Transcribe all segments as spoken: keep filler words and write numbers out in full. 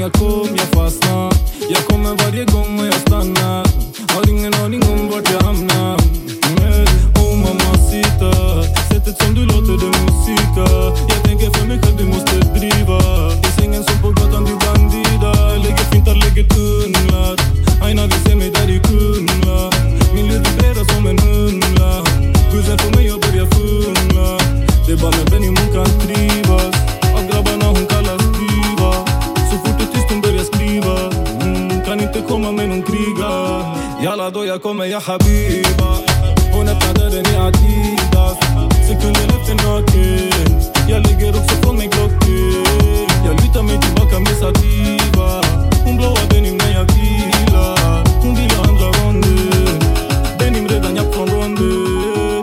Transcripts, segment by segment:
jag kom, jag fastnar. Jag kommer varje gång och jag stannar. Har ingen aning om vart jag hamnar. mm. Oh mamacita, sättet som du låter det musika. Jag tänker för mig själv, du måste driva. I sängen som på gatan, du bandida. Lägger fintar, lägger tunnlar. Aina vill se mig där i Kumla. Min liv vibrerar som en humla. Gusen får mig att börja fumla. Det är bara med Benny hon kan trivas. Av grabbarna hon kallas diva. Så fort det är tyst hon börjar skriva. mm, Kan inte komma med någon kriga. Jalla då jag kommer, jag habiba. Hon öppnar dörren i Adidas. Sekunden efter naken. Jag lägger också från mig klocken. Jag lutar mig tillbaka med sativa. Hon blåar Benny när jag vilar. Hon vill ha andra ronden. Benny redan jag från ronden.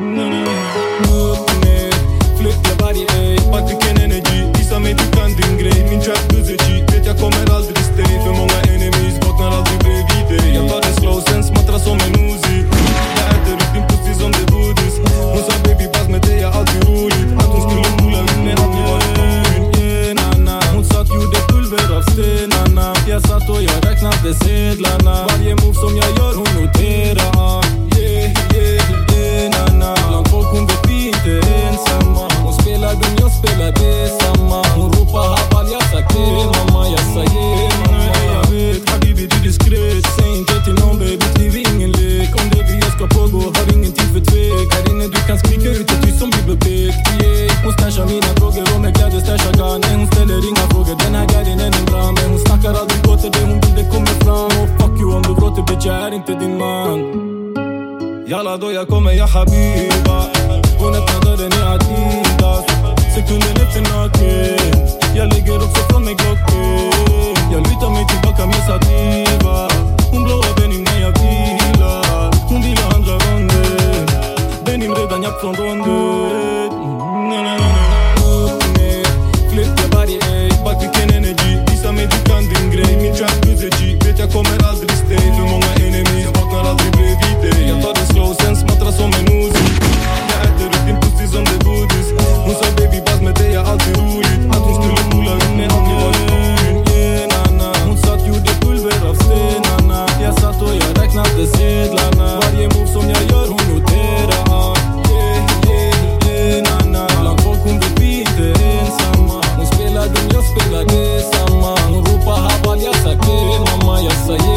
Upp ner, flyttar varje ej. Back vilken energy, visa mig du kan din grej. Min trap buzzergy, vet jag kommer aldrig stay. För många enemies vaknar aldrig bredvid dig. Jag tar det slow, sen smattrar som en Uzi. Jag äter upp din pussy som det buddhist. Hon sa baby pass med dig är alltid roligt. Att hon skulle pula ut med aldrig varit roligt. Yeah, nana. Hon satt gjorde pulver av stenarna. Jag satt och jag räknade sedlarna. Varje move som jag gör hon noterar. Yeah, yeah, yeah, nana. Bland folk hon vet vi inte ensamma. Hon spelar dum, jag spelar detsamma. Hon ropar habal, jag sa till mamma. Jag sa yeah, mamma. Jag vet, habibi du diskret. Säg inte till någon baby, liv är ingen lek. Om det vi ska pågå, har ingen tid för tvek. Här inne du kan skrika ut ett tyst som bibliotek. Yeah, hon stashar mina droger och med kläder stashar garnen. Hon ställer inga frågor, den här gardin är en bra. Men hon snackar aldrig gott, det hon vill det kommer fram. Och fuck you om du gråter bitch, jag är inte din man. Jalla då jag kommer, jag habiba. Hon öppnar dörren i Adidas. Sekunden efter naken. Jag lägger också från mig klocken. Jag lutar mig tillbaka med sativa. Hon blåar Benny när jag vilar. Hon vill ha andra ronden. Benny redan jag från ronden. Upp ner, flyttar varje ej. Back vilken energy, visa mig du kan din grej. Min trap buzzergy, vet jag kommer aldrig stay. För många enemies, jag vaknar aldrig bredvid dig. Jag tar det slow, sen smattrar som en Uzi. Jag äter upp din pussy som det buddhist. Hon sa baby pass med dig är alltid roligt. Att hon skulle pula ut med aldrig varit roligt. Yeah, nana. Hon satt gjorde pulver av stenarna. Jag satt och jag räknade sedlarna. Varje move som jag gör hon noterar. Yeah, yeah, yeah, nana. Bland folk hon vet vi inte ensamma. Hon spelar dum, jag spelar detsamma. Hon ropar habal, jag sa till mamma. Jag sa yeah.